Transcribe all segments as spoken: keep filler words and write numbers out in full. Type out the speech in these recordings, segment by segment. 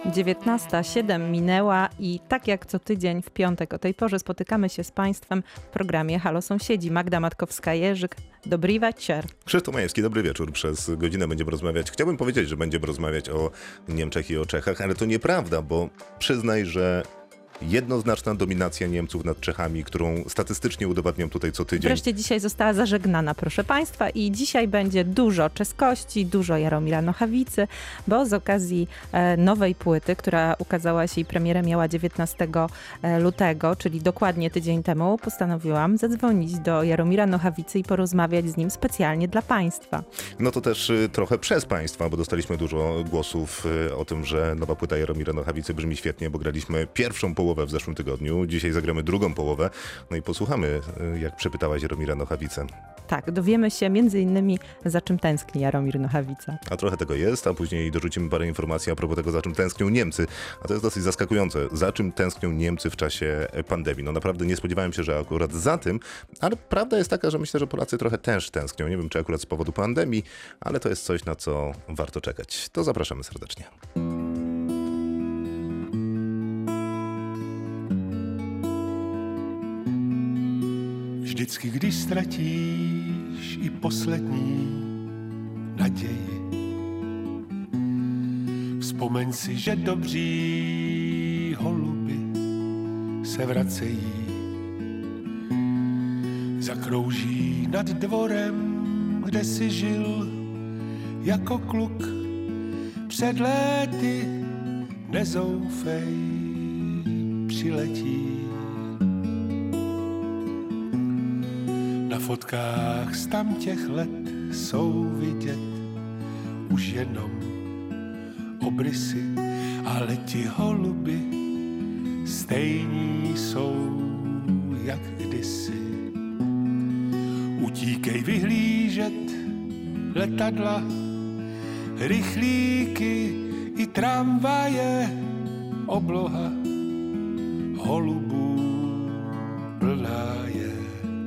dziewiętnasta siedem minęła i tak jak co tydzień w piątek o tej porze spotykamy się z Państwem w programie Halo Sąsiedzi. Magda Matkowska-Jerzyk, dobry wieczór. Krzysztof Majewski, dobry wieczór. Przez godzinę będziemy rozmawiać. Chciałbym powiedzieć, że będziemy rozmawiać o Niemczech i o Czechach, ale to nieprawda, bo przyznaj, że jednoznaczna dominacja Niemców nad Czechami, którą statystycznie udowadniam tutaj co tydzień. Wreszcie dzisiaj została zażegnana, proszę Państwa, i dzisiaj będzie dużo czeskości, dużo Jaromira Nochawicy, bo z okazji e, nowej płyty, która ukazała się i premierę miała dziewiętnastego lutego, czyli dokładnie tydzień temu, postanowiłam zadzwonić do Jaromira Nochawicy i porozmawiać z nim specjalnie dla Państwa. No to też y, trochę przez Państwa, bo dostaliśmy dużo głosów y, o tym, że nowa płyta Jaromira Nochawicy brzmi świetnie, bo graliśmy pierwszą połowę w zeszłym tygodniu. Dzisiaj zagramy drugą połowę. No i posłuchamy, jak przepytałaś Jaromira Nochawicę. Tak, dowiemy się między innymi, za czym tęskni Jaromir Nochawica. A trochę tego jest, a później dorzucimy parę informacji a propos tego, za czym tęsknią Niemcy. A to jest dosyć zaskakujące. Za czym tęsknią Niemcy w czasie pandemii? No naprawdę nie spodziewałem się, że akurat za tym, ale prawda jest taka, że myślę, że Polacy trochę też tęsknią. Nie wiem, czy akurat z powodu pandemii, ale to jest coś, na co warto czekać. To zapraszamy serdecznie. Vždycky, když ztratíš i poslední naději, vzpomeň si, že dobří holuby se vracejí. Zakrouží nad dvorem, kde si žil jako kluk před léty, nezoufej, přiletí. Na fotkách z tam těch let jsou vidět už jenom obrysy, ale ti holuby stejní jsou jak kdysi. Utíkej vyhlížet letadla, rychlíky i tramvaje, obloha holubů plná je.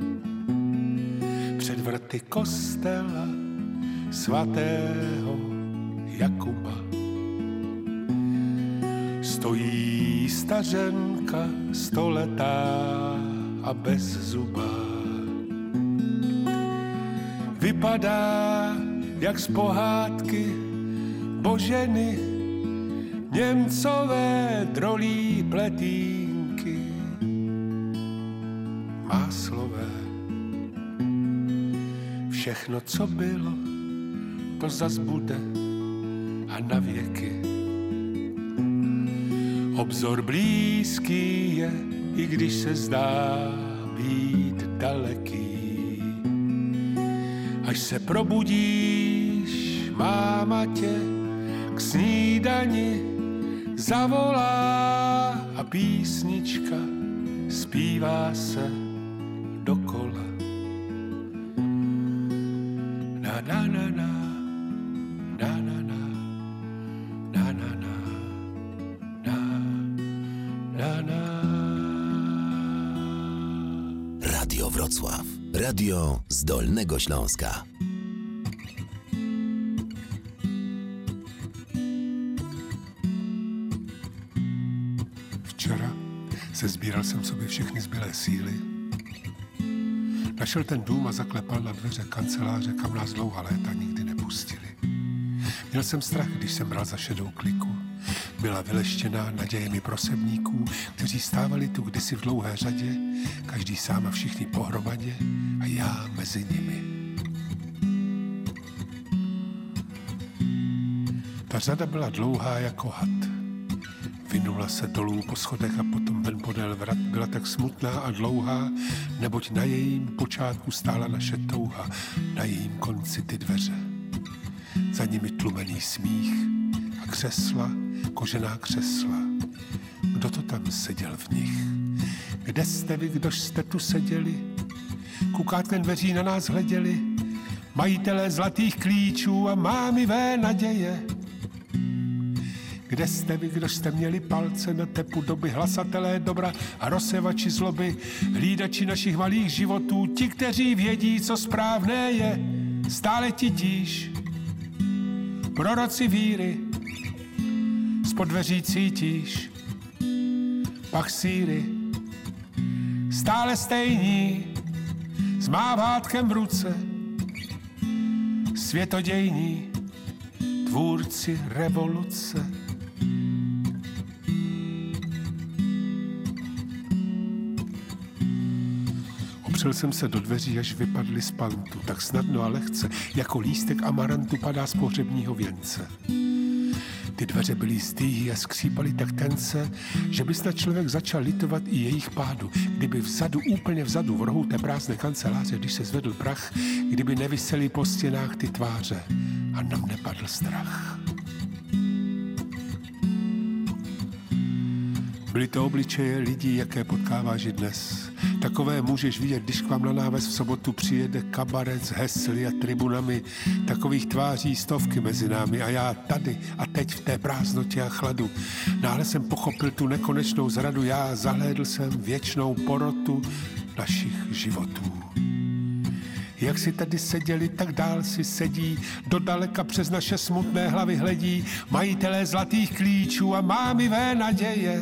Před vrty kostela svatého Jakuba stojí stařenka stoletá a bez zuba. Vypadá jak z pohádky Boženy, Němcové drolí pletínky, máslové. Všechno, co bylo, to zas bude a na věky. Obzor blízký je, i když se zdá být daleký. Až se probudíš, máma tě k snídani zavolá a písnička zpívá se dokola. Na na na na, na na na, na na na, na na na. Radio Wrocław. Radio z Dolnego Śląska. Včera se sbíral jsem sobě všechny zbylé síly. Našel ten dům a zaklepal na dveře kanceláře, kam nás dlouhá léta nikdy nepustili. Měl jsem strach, když jsem bral za šedou kliku. Byla vyleštěná nadějemi prosebníků, kteří stávali tu kdysi v dlouhé řadě, každý sám a všichni pohromadě a já mezi nimi. Ta řada byla dlouhá jako had. Vynula se dolů po schodech a potom ven podél vrat. Byla tak smutná a dlouhá, neboť na jejím počátku stála naše touha, na jejím konci ty dveře. Za nimi tlumený smích a křesla, kožená křesla. Kdo to tam seděl v nich? Kde jste vy, kdož jste tu seděli? Kukátkem dveří na nás hleděli, majitelé zlatých klíčů a mámivé naděje. Kde jste vy, kdož jste měli palce na tepu doby, hlasatelé dobra a rozsevači zloby, hlídači našich malých životů, ti, kteří vědí, co správné je, stále ti tíž. Proroci víry, Spod dveří cítíš pach síry, stále stejní, s mávátkem v ruce, světodějní, tvůrci revoluce. Opřel jsem se do dveří, až vypadly z pantu, tak snadno a lehce, jako lístek amarantu padá z pohřebního věnce. Ty dveře byly zdýhy a skřípaly tak tence, že by snad člověk začal litovat i jejich pádu. Kdyby vzadu, úplně vzadu, v rohu té prázdné kanceláře, když se zvedl prach, kdyby nevisely po stěnách ty tváře a nám nepadl strach. Byly to obličeje lidí, jaké potkáváš i dnes. Takové můžeš vidět, když k vám na náves v sobotu přijede kabaret s hesly a tribunami. Takových tváří stovky mezi námi a já tady a teď v té prázdnotě a chladu. Náhle jsem pochopil tu nekonečnou zradu, já zahlédl jsem věčnou porotu našich životů. Jak si tady seděli, tak dál si sedí, dodaleka přes naše smutné hlavy hledí majitelé zlatých klíčů a mámivé naděje.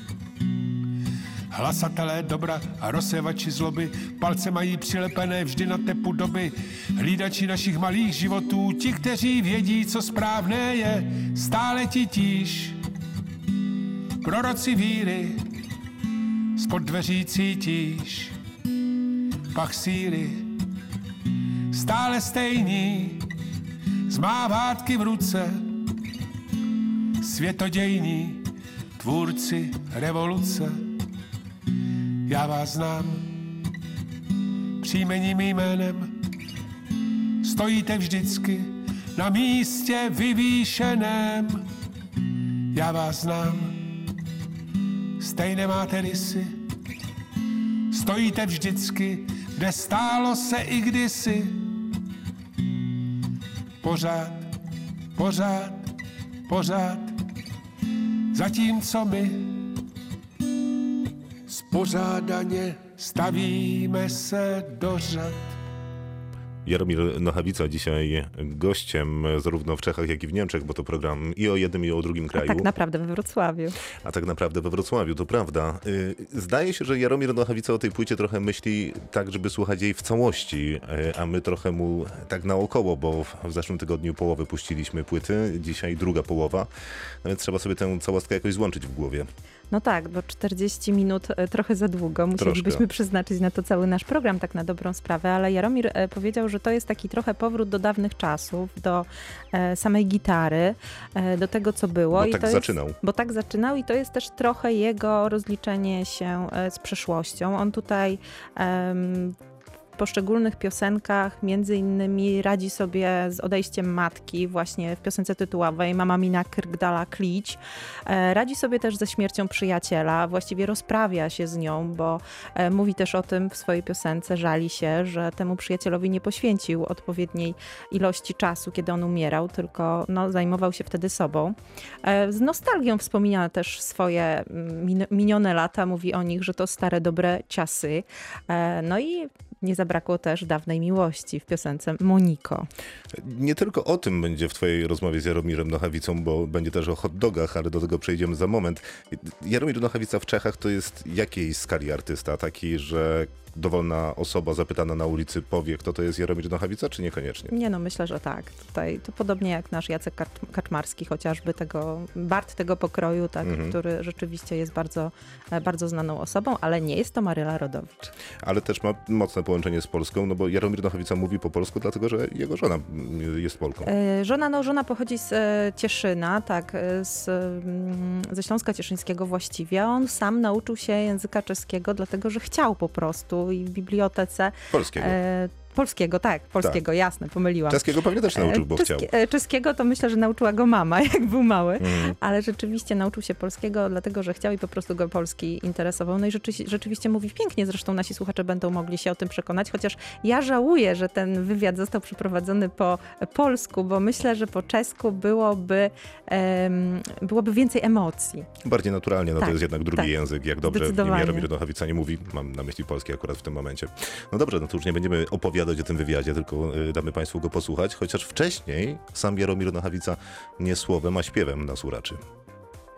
Hlasatelé dobra a rozsévači zloby, palce mají přilepené vždy na tepu doby. Hlídači našich malých životů, ti, kteří vědí, co správné je, stále titíž. Proroci víry, spod dveří cítíš pach síry, stále stejní, z mávátky v ruce, světodějní, tvůrci revoluce. Já vás znám příjmením jménem, stojíte vždycky na místě vyvýšeném. Já vás znám, stejné máte rysy, stojíte vždycky, kde stálo se i kdysi. Pořád, pořád, pořád, zatímco my spořádaně stavíme se do řad. Jaromir Nochawica dzisiaj gościem zarówno w Czechach, jak i w Niemczech, bo to program i o jednym, i o drugim kraju. A tak naprawdę we Wrocławiu. A tak naprawdę we Wrocławiu, to prawda. Zdaje się, że Jaromir Nochawica o tej płycie trochę myśli tak, żeby słuchać jej w całości, a my trochę mu tak naokoło, bo w zeszłym tygodniu połowę puściliśmy płyty, dzisiaj druga połowa, no więc trzeba sobie tę całostkę jakoś złączyć w głowie. No tak, bo czterdzieści minut trochę za długo. Musielibyśmy Troszkę. przeznaczyć na to cały nasz program, tak na dobrą sprawę, ale Jaromir powiedział, że to jest taki trochę powrót do dawnych czasów, do e, samej gitary, e, do tego, co było. Bo I tak to zaczynał. Jest, bo tak zaczynał i to jest też trochę jego rozliczenie się e, z przeszłością. On tutaj em, w poszczególnych piosenkach między innymi radzi sobie z odejściem matki, właśnie w piosence tytułowej Mama mina krgdala klić. E, radzi sobie też ze śmiercią przyjaciela, właściwie rozprawia się z nią, bo e, mówi też o tym w swojej piosence, żali się, że temu przyjacielowi nie poświęcił odpowiedniej ilości czasu, kiedy on umierał, tylko no, zajmował się wtedy sobą. E, z nostalgią wspomina też swoje min- minione lata, mówi o nich, że to stare, dobre czasy. E, no i nie zabrakło też dawnej miłości w piosence Moniko. Nie tylko o tym będzie w twojej rozmowie z Jaromirem Nochawicą, bo będzie też o hot dogach, ale do tego przejdziemy za moment. Jaromir Nochawica w Czechach to jest jakiej skali artysta? Taki, że dowolna osoba zapytana na ulicy powie, kto to jest Jaromir Nochawica, czy niekoniecznie? Nie, no myślę, że tak. Tutaj to podobnie jak nasz Jacek Kaczmarski, chociażby tego, Bart tego pokroju, tak, mhm. który rzeczywiście jest bardzo, bardzo znaną osobą, ale nie jest to Maryla Rodowicz. Ale też ma mocne połączenie z Polską, no bo Jaromir Nochawica mówi po polsku, dlatego że jego żona jest Polką. E, żona, no żona pochodzi z e, Cieszyna, tak, z, ze Śląska Cieszyńskiego właściwie. On sam nauczył się języka czeskiego, dlatego że chciał po prostu i w bibliotece. Polskiego. E, Polskiego, tak, polskiego, tak. Jasne, pomyliłam. Czeskiego pewnie też nauczył, bo Czeskie, chciał. Czeskiego to myślę, że nauczyła go mama, jak był mały, mm. ale rzeczywiście nauczył się polskiego, dlatego że chciał i po prostu go polski interesował. No i rzeczy, rzeczywiście mówi pięknie, zresztą nasi słuchacze będą mogli się o tym przekonać, chociaż ja żałuję, że ten wywiad został przeprowadzony po polsku, bo myślę, że po czesku byłoby, um, byłoby więcej emocji. Bardziej naturalnie, no tak, to jest jednak drugi tak, język, jak dobrze Jaromir Nochawica nie mówi, mam na myśli polski akurat w tym momencie. No dobrze, no to już nie będziemy opowiadać o tym wywiadzie, tylko damy Państwu go posłuchać, chociaż wcześniej sam Jaromir Nochawica nie słowem, a śpiewem nas uraczy.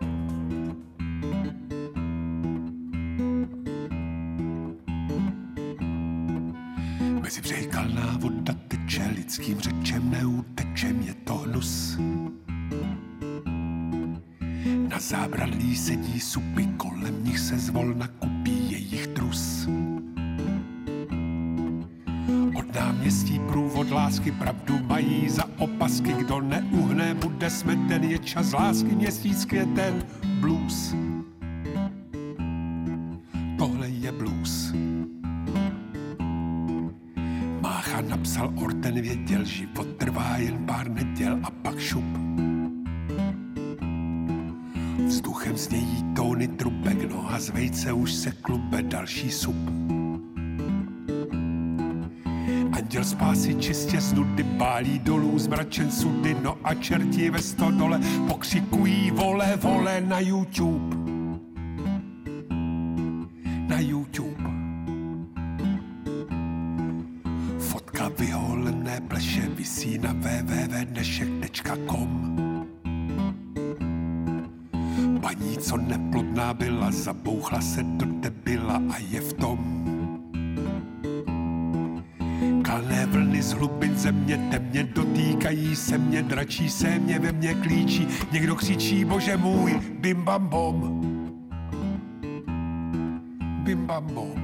Mezi břehy kalná voda teče, lidským řečem neutečem, je to hnus. Na zábradlí sedí supy, kolem nich se zvolna kupí jejich trus. Od náměstí průvod lásky pravdu mají za opasky, kdo neuhne, bude smeten, je čas lásky, měsíc květen, blues. Tohle je blues. Mácha napsal Orten, věděl, život trvá jen pár neděl a pak šup. Vzduchem znějí tóny trubek, noha z vejce už se klube, další sup. Anděl spásy čistě z nudy bálí dolů zmračen sudy, no a čerti ve stodole pokřikují vole, vole na YouTube. Na YouTube. Fotka vyholené pleše visí na w w w tečka dnešek tečka com. Paní, co neplodná byla, zabouchla se do debila a je v tom. Kalné vlny z hlubin země temně dotýkají se mě, dračí se mě, ve mně klíčí. Někdo křičí, bože můj, bim bam bom. Bim bam bom.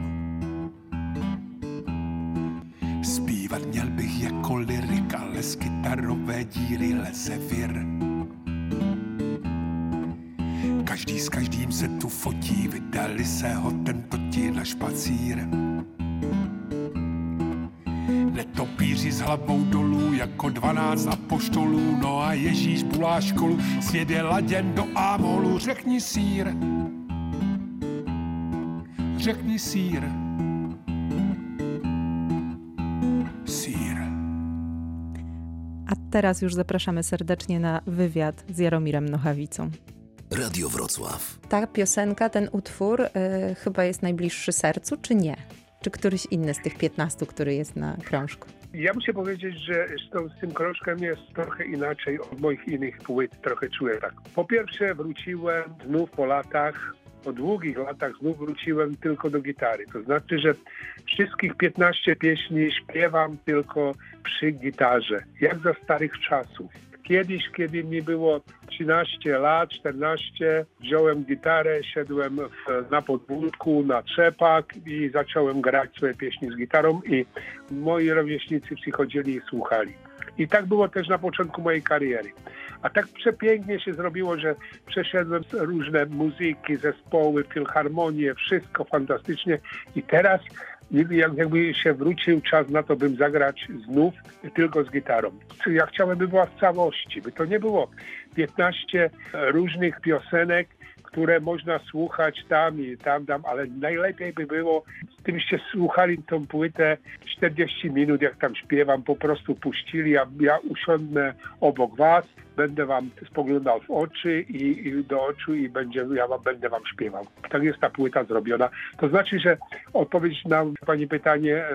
Zpívat měl bych jako lyrik, ale z kytarové díry leze vir. Každý s každým se tu fotí, vydali se ho tento ti na špacír. Netopíři s hlavou dolů jako dvanáct apoštolů, no a Ježíš bulá školu, svět je laděn do ámolu, řekni sír. Řekni sír. Sír. A teraz już zapraszamy serdecznie na wywiad z Jaromirem Nochawicą. Radio Wrocław. Ta piosenka, ten utwór y, chyba jest najbliższy sercu, czy nie? Czy któryś inny z tych piętnastu, który jest na krążku? Ja muszę powiedzieć, że z, tą, z tym krążkiem jest trochę inaczej od moich innych płyt. Trochę czuję tak. Po pierwsze wróciłem znów po latach, po długich latach znów wróciłem tylko do gitary. To znaczy, że wszystkich piętnaście pieśni śpiewam tylko przy gitarze, jak za starych czasów. Kiedyś, kiedy mi było trzynaście lat, czternaście, wziąłem gitarę, siadłem w, na podwórku, na trzepak i zacząłem grać swoje pieśni z gitarą i moi rówieśnicy przychodzili i słuchali. I tak było też na początku mojej kariery. A tak przepięknie się zrobiło, że przeszedłem różne muzyki, zespoły, filharmonie, wszystko fantastycznie i teraz jakby się wrócił czas na to, bym zagrać znów tylko z gitarą. Ja chciałem, by była w całości, by to nie było piętnaście różnych piosenek, które można słuchać tam i tam, tam, ale najlepiej by było, gdybyście słuchali tą płytę czterdzieści minut, jak tam śpiewam, po prostu puścili, ja, ja usiądę obok was, będę wam spoglądał w oczy i, i do oczu i będzie, ja wam, będę wam śpiewał. Tak jest ta płyta zrobiona. To znaczy, że odpowiedź na pani pytanie,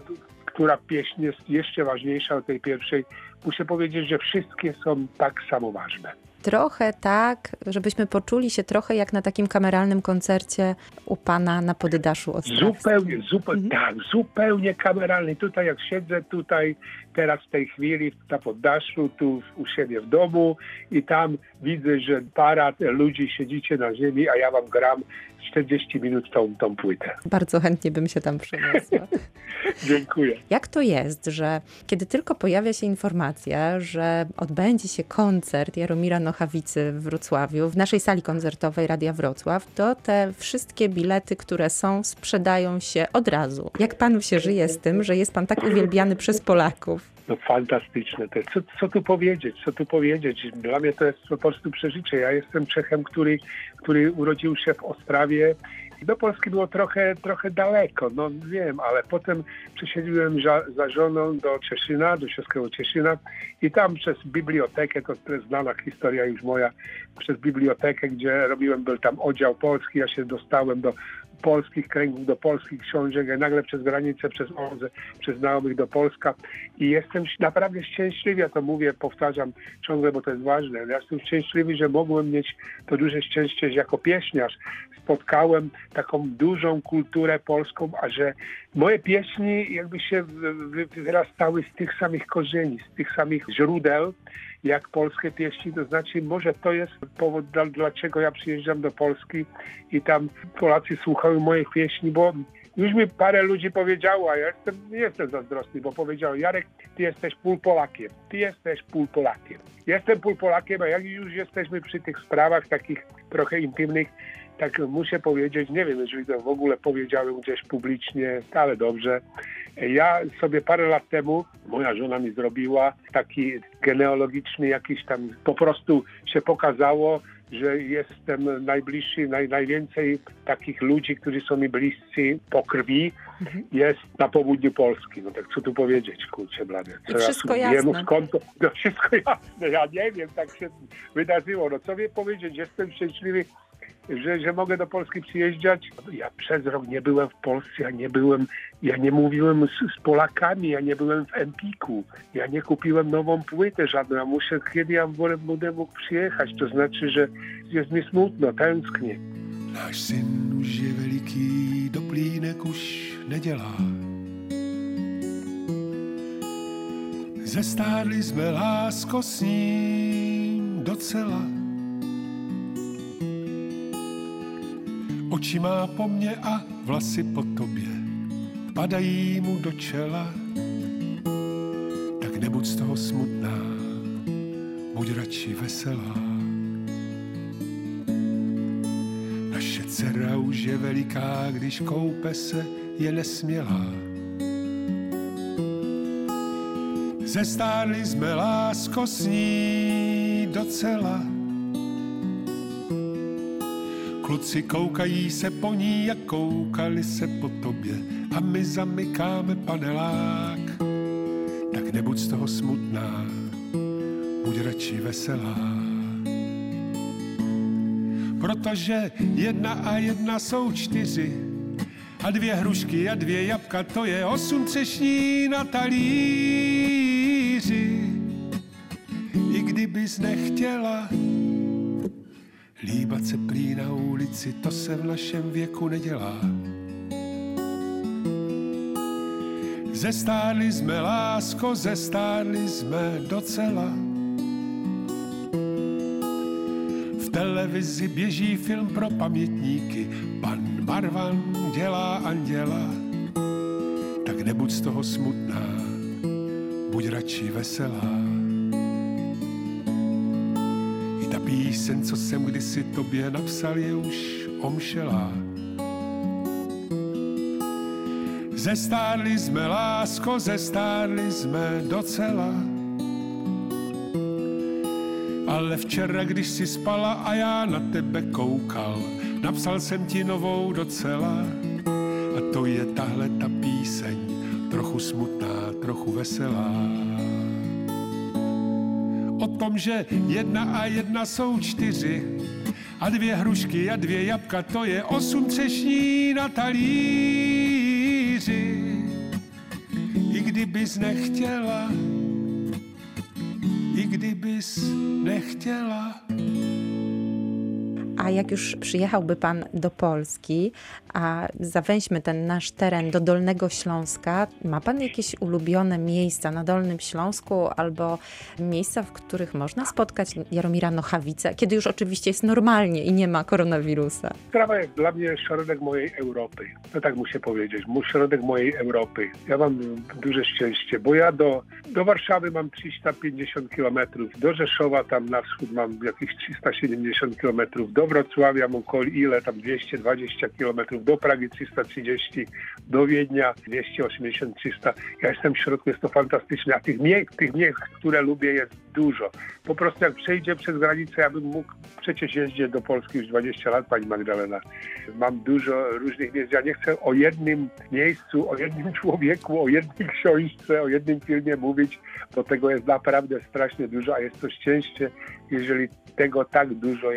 która pieśń jest jeszcze ważniejsza od tej pierwszej, muszę powiedzieć, że wszystkie są tak samo ważne. Trochę tak, żebyśmy poczuli się trochę jak na takim kameralnym koncercie u pana na poddaszu Ostrawskim. Zupełnie, zupełnie, mhm. tak, zupełnie kameralny. Tutaj jak siedzę tutaj teraz w tej chwili na poddaszu, tu u siebie w domu i tam widzę, że para ludzi siedzicie na ziemi, a ja wam gram czterdzieści minut tą, tą płytę. Bardzo chętnie bym się tam przeniosła. Dziękuję. Jak to jest, że kiedy tylko pojawia się informacja, że odbędzie się koncert Jaromira Nochawicy w Wrocławiu, w naszej sali koncertowej Radia Wrocław, to te wszystkie bilety, które są, sprzedają się od razu. Jak panu się żyje z tym, że jest pan tak uwielbiany przez Polaków? No fantastyczne to jest. Co, co tu powiedzieć, co tu powiedzieć? Dla mnie to jest po prostu przeżycie. Ja jestem Czechem, który, który urodził się w Ostrawie. Do Polski było trochę, trochę daleko, no wiem, ale potem przesiedliłem za, za żoną do Cieszyna, do czeskiego Cieszyna i tam przez bibliotekę, to jest znana historia już moja, przez bibliotekę, gdzie robiłem, był tam oddział polski, ja się dostałem do polskich kręgów, do polskich książek, a nagle przez granicę, przez Odrę, przez znajomych do Polska i jestem naprawdę szczęśliwy, ja to mówię, powtarzam ciągle, bo to jest ważne. Ja jestem szczęśliwy, że mogłem mieć to duże szczęście, że jako pieśniarz spotkałem taką dużą kulturę polską, a że moje pieśni jakby się wyrastały z tych samych korzeni, z tych samych źródeł, jak polskie pieśni, to znaczy może to jest powód, dlaczego ja przyjeżdżam do Polski i tam Polacy słuchają moich pieśni, bo już mi parę ludzi powiedziało, a ja jestem, nie jestem zazdrosny, bo powiedział: Jarek, ty jesteś pół Polakiem, ty jesteś pół Polakiem. Jestem pół Polakiem, a jak już jesteśmy przy tych sprawach takich trochę intymnych, tak muszę powiedzieć, nie wiem, jeżeli to w ogóle powiedziałem gdzieś publicznie, ale dobrze. Ja sobie parę lat temu, moja żona mi zrobiła taki genealogiczny jakiś tam, po prostu się pokazało, że jestem najbliższy, naj, najwięcej takich ludzi, którzy są mi bliscy po krwi, mhm. jest na południu Polski. No tak co tu powiedzieć, kurczę blade. I wszystko jasne. Wiem, skąd to, no wszystko jasne, ja nie wiem, tak się wydarzyło. No co wie powiedzieć, jestem szczęśliwy, Że, że mogę do Polski przyjeżdżać. Ja przez rok nie byłem w Polsce, ja nie byłem, ja nie mówiłem z, z Polakami, ja nie byłem w Empiku, ja nie kupiłem nową płytę żadną, ja muszę, kiedy ja będę mógł przyjechać, to znaczy, że jest mi smutno, tęsknię. Náš syn už je veliký, doplínek už nedělá. Zestárli jsme, lásko, s ním docela. Oči má po mně a vlasy po tobě padají mu do čela. Tak nebuď z toho smutná, buď radši veselá. Naše dcera už je veliká, když koupe se, je nesmělá. Zestárli jsme, lásko, s ní docela. Kluci koukají se po ní, jak koukali se po tobě, a my zamykáme panelák. Tak nebuď z toho smutná, buď radši veselá. Protože jedna a jedna jsou čtyři, a dvě hrušky a dvě jabka, to je osm třešní na talíři. I kdybys nechtěla líbat se prý na ulici, to se v našem věku nedělá. Zestárli jsme, lásko, zestárli jsme docela. V televizi běží film pro pamětníky, pan Marvan dělá anděla. Tak nebuď z toho smutná, buď radši veselá. Píseň, co jsem kdysi tobě napsal, je už omšelá. Zestárli jsme, lásko, zestárli jsme docela. Ale včera, když si spala a já na tebe koukal, napsal jsem ti novou docela. A to je tahle ta píseň, trochu smutná, trochu veselá. O tom, že jedna a jedna jsou čtyři, a dvě hrušky a dvě jabka, to je osm třešní na talíři. I kdybys nechtěla, i kdybys nechtěla. A jak już przyjechałby pan do Polski, a zawęźmy ten nasz teren do Dolnego Śląska, ma pan jakieś ulubione miejsca na Dolnym Śląsku albo miejsca, w których można spotkać Jaromira Nochawicę, kiedy już oczywiście jest normalnie i nie ma koronawirusa? Sprawa jest dla mnie środek mojej Europy. No tak muszę powiedzieć, mój środek mojej Europy. Ja mam duże szczęście, bo ja do, do Warszawy mam trzysta pięćdziesiąt kilometrów, do Rzeszowa tam na wschód mam jakieś trzysta siedemdziesiąt kilometrów, do Wrocławia mam ile tam dwieście dwadzieścia kilometrów, do Pragi trzysta trzydzieści, do Wiednia dwieście osiemdziesiąt trzysta. Ja jestem w środku, jest to fantastyczne, a tych miejsc, tych miejsc, które lubię, jest dużo. Po prostu jak przejdzie przez granicę, ja bym mógł, przecież jeździć do Polski już dwadzieścia lat, pani Magdalena. Mam dużo różnych miejsc. Ja nie chcę o jednym miejscu, o jednym człowieku, o jednej książce, o jednym filmie mówić, bo tego jest naprawdę strasznie dużo, a jest to szczęście, jeżeli tego tak dużo jest.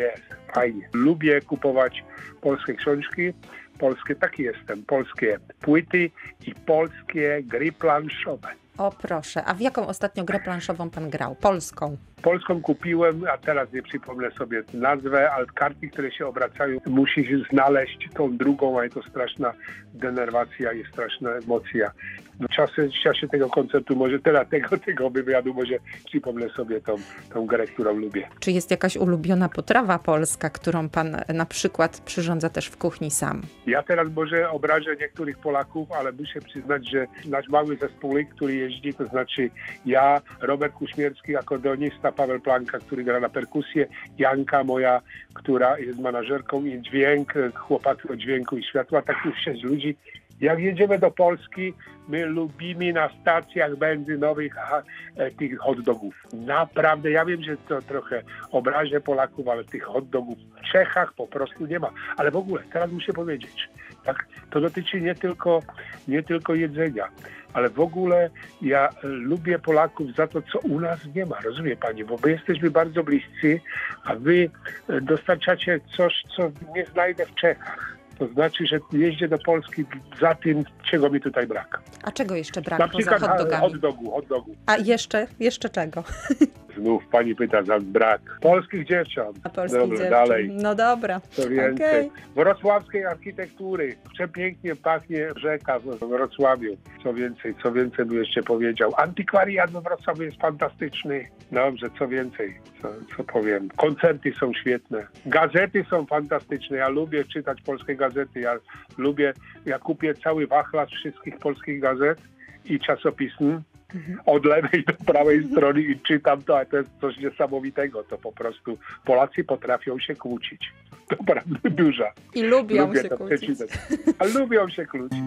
fajnie. Lubię kupować polskie książki, polskie, taki jestem, polskie płyty i polskie gry planszowe. O proszę, a w jaką ostatnio grę planszową pan grał? Polską? Polską kupiłem, a teraz nie przypomnę sobie nazwę, ale karty, które się obracają, musisz znaleźć tą drugą, a jest to straszna denerwacja i straszna emocja. W czasie, w czasie tego koncertu, może teraz tego, tego wywiadu, może przypomnę sobie tą, tą grę, którą lubię. Czy jest jakaś ulubiona potrawa polska, którą pan na przykład przyrządza też w kuchni sam? Ja teraz może obrażę niektórych Polaków, ale muszę przyznać, że nasz mały zespół, który jeździ, to znaczy ja, Robert Kuśmierski, akordeonista, Paweł Planka, który gra na perkusję, Janka moja, która jest manażerką i dźwięk, chłopaki od dźwięku i światła, tak już sześć ludzi. Jak jedziemy do Polski, my lubimy na stacjach benzynowych ha, tych hot dogów. Naprawdę, ja wiem, że to trochę obrażę Polaków, ale tych hot dogów w Czechach po prostu nie ma. Ale w ogóle, teraz muszę powiedzieć, tak, to dotyczy nie tylko, nie tylko jedzenia, ale w ogóle ja lubię Polaków za to, co u nas nie ma. Rozumie pani? Bo my jesteśmy bardzo bliscy, a wy dostarczacie coś, co nie znajdę w Czechach. To znaczy, że jeździę do Polski za tym, czego mi tutaj brak. A czego jeszcze brak Na poza przykład hot dogami? hot dogu, hot dogu. A jeszcze, jeszcze czego? Znów pani pyta za brak. Polskich dziewcząt. A polskich Dobra, dziewczyn. dalej. No dobra. Co więcej. Okay. Wrocławskiej architektury. Przepięknie pachnie rzeka w Wrocławiu. Co więcej, co więcej bym jeszcze powiedział. Antykwariat we Wrocławiu jest fantastyczny. Dobrze, co więcej, co, co powiem. Koncerty są świetne. Gazety są fantastyczne. Ja lubię czytać polskie gazety. Ja lubię, ja kupię cały wachlarz wszystkich polskich gazet i czasopism. Od lewej do prawej strony i czytam to, a to jest coś niesamowitego. To po prostu Polacy potrafią się kłócić. To prawda duża. I lubią Lubię się to kłócić. przeczytać. A lubią się kłócić.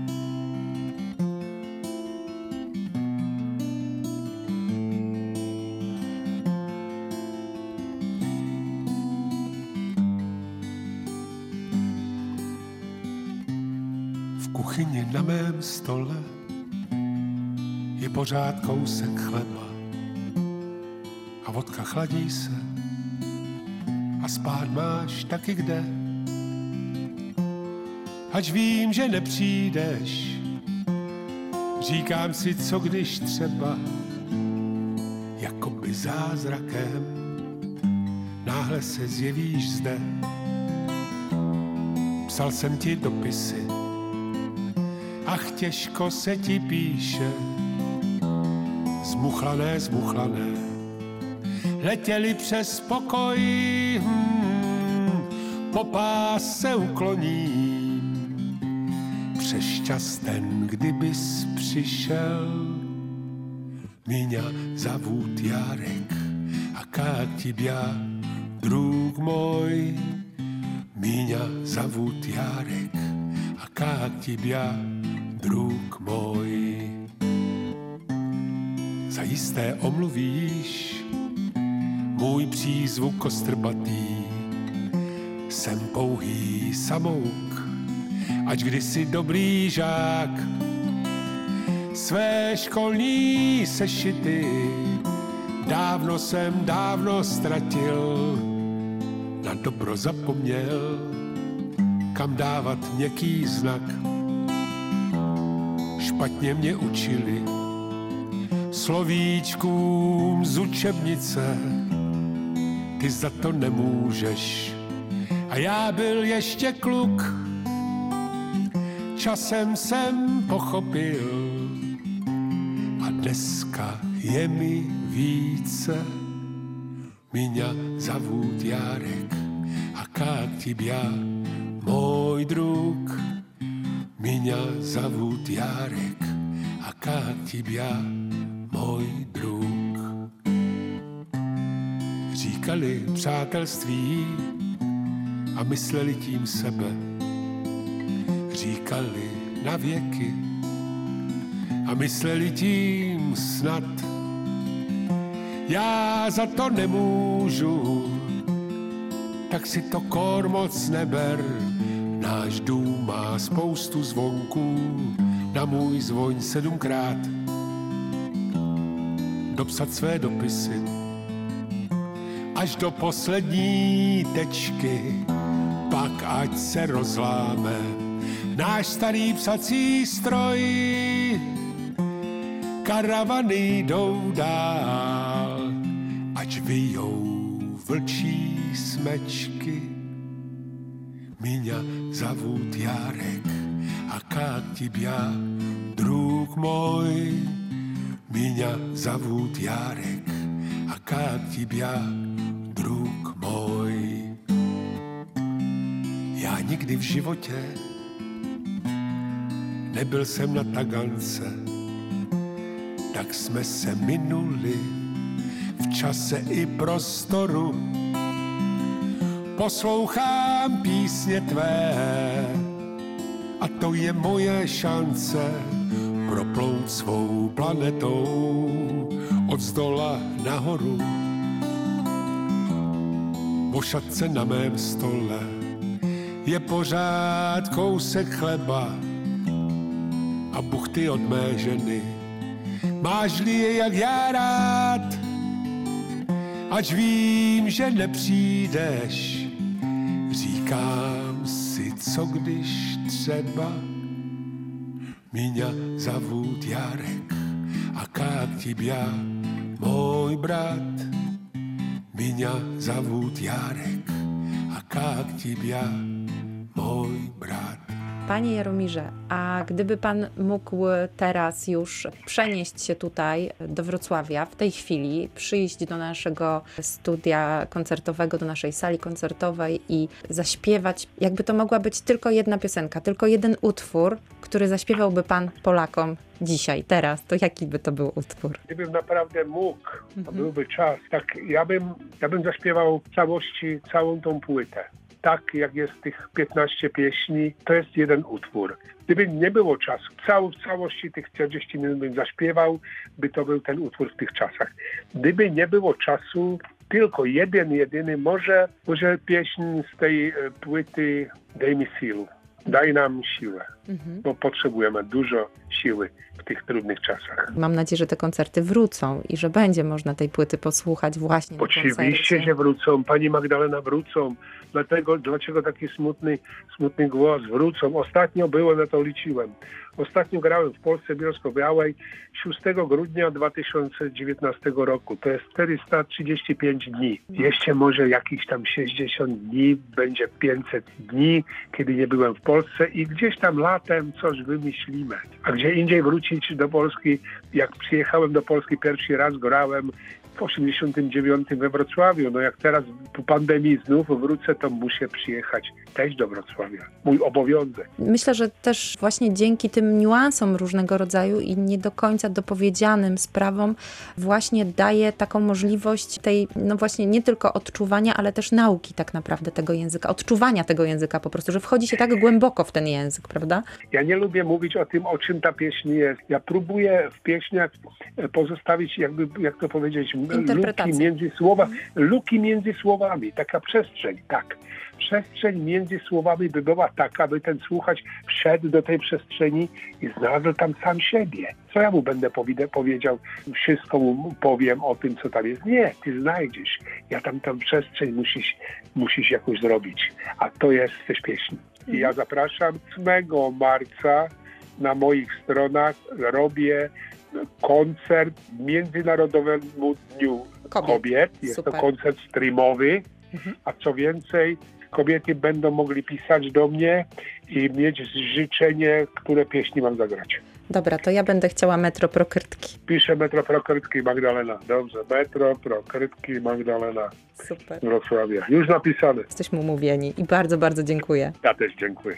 V kuchyni na mém stole je pořád kousek chleba a vodka chladí se a spát máš taky kde. Ač vím, že nepřijdeš, říkám si, co když třeba jakoby zázrakem náhle se zjevíš zde. Psal jsem ti dopisy, ach těžko se ti píše, zmuchlané, zmuchlané, letěli přes pokoj, hmm, po pás se ukloním, přes čas ten, kdybys přišel, Míňa zavút Járek a kák ti bia, drug můj, Míňa zavút Járek a kák ti bia, drug můj. Zajisté omluvíš můj přízvuk kostrbatý. Jsem pouhý samouk, ač kdysi dobrý žák. Své školní sešity dávno jsem dávno ztratil. Na dobro zapomněl, kam dávat měkký znak. Špatně mě učili slovíčkům z učebnice, ty za to nemůžeš. A já byl ještě kluk, časem jsem pochopil a dneska je mi více. Míňa zavút Járek a kák ti bia, můj druk. Míňa zavút Járek a kák ti bia, můj druk. Říkali přátelství a mysleli tím sebe. Říkali na věky a mysleli tím snad. Já za to nemůžu, tak si to kor moc neber. Náš dům má spoustu zvonků, na můj zvoň sedmkrát dopsat své dopisy. až do poslední tečky, pak ať se rozláme náš starý psací stroj. Karavany jdou dál, ať vyjou vlčí smečky. Míňa zavút Járek a kak tibia, drug môj. Míňa zavút Járek a kak tibia, drug môj. Já nikdy v životě nebyl jsem na Tagance, tak jsme se minuli v čase i prostoru. Poslouchám písně tvé a to je moje šance proplout svou planetou od zdola nahoru. Vošat se na mém stole je pořád kousek chleba a buchty od mé ženy. Máš-li je jak já rád, ač vím, že nepřijdeš, říkám si, co když třeba Míňa zavút Járek a kak tibia, môj brat. Míňa zavút Járek a kak tibia, mój brat. Panie Jaromirze, a gdyby pan mógł teraz już przenieść się tutaj do Wrocławia, w tej chwili, przyjść do naszego studia koncertowego, do naszej sali koncertowej i zaśpiewać, jakby to mogła być tylko jedna piosenka, tylko jeden utwór, który zaśpiewałby pan Polakom dzisiaj, teraz, to jaki by to był utwór? Gdybym naprawdę mógł, to Mhm. byłby czas, tak ja bym, ja bym zaśpiewał w całości całą tą płytę. Tak jak jest tych piętnaście pieśni, to jest jeden utwór. Gdyby nie było czasu, cał, w całości tych czterdzieści minut bym zaśpiewał, by to był ten utwór w tych czasach. Gdyby nie było czasu, tylko jeden, jedyny, może, może pieśń z tej e, płyty Daj mi siłę, daj nam siłę, Mhm. bo potrzebujemy dużo siły w tych trudnych czasach. Mam nadzieję, że te koncerty wrócą i że będzie można tej płyty posłuchać właśnie na Oczywiście, koncercie. że wrócą. Pani Magdalena, wrócą. Dlatego, dlaczego taki smutny, smutny głos? Wrócą. Ostatnio było, na to liczyłem. Ostatnio grałem w Polsce Bielsko-Białej szóstego grudnia dwa tysiące dziewiętnastego roku. To jest czterysta trzydzieści pięć dni. Jeszcze może jakieś tam sześćdziesiąt dni, będzie pięćset dni, kiedy nie byłem w Polsce i gdzieś tam latem coś wymyślimy. A gdzie indziej wrócić do Polski, jak przyjechałem do Polski pierwszy raz, grałem w osiemdziesiątym dziewiątym we Wrocławiu. No jak teraz po pandemii znów wrócę, to muszę przyjechać też do Wrocławia. Mój obowiązek. Myślę, że też właśnie dzięki tym niuansom różnego rodzaju i nie do końca dopowiedzianym sprawom właśnie daje taką możliwość tej, no właśnie nie tylko odczuwania, ale też nauki tak naprawdę tego języka, odczuwania tego języka po prostu, że wchodzi się tak głęboko w ten język, prawda? Ja nie lubię mówić o tym, o czym ta pieśń jest. Ja próbuję w pieśniach pozostawić, jakby, jak to powiedzieć, luki między słowami, luki między słowami, taka przestrzeń, tak. Przestrzeń między słowami by była taka, by ten słuchacz wszedł do tej przestrzeni i znalazł tam sam siebie. Co ja mu będę powie- powiedział, wszystko mu powiem o tym, co tam jest. Nie, ty znajdziesz. Ja tam tam przestrzeń musisz, musisz jakoś zrobić. A to jest też pieśń. I ja zapraszam ósmego marca na moich stronach robię koncert Międzynarodowemu Dniu Kobiet. Kobiet. Jest Super. to koncert streamowy, Mhm. a co więcej, kobiety będą mogli pisać do mnie i mieć życzenie, które pieśni mam zagrać. Dobra, to ja będę chciała Metro Prokrytki. Piszę Metro Prokrytki Magdalena. Dobrze, Metro Prokrytki Magdalena Super. Wrocławia. Już napisane. Jesteśmy umówieni i bardzo, bardzo dziękuję. Ja też dziękuję.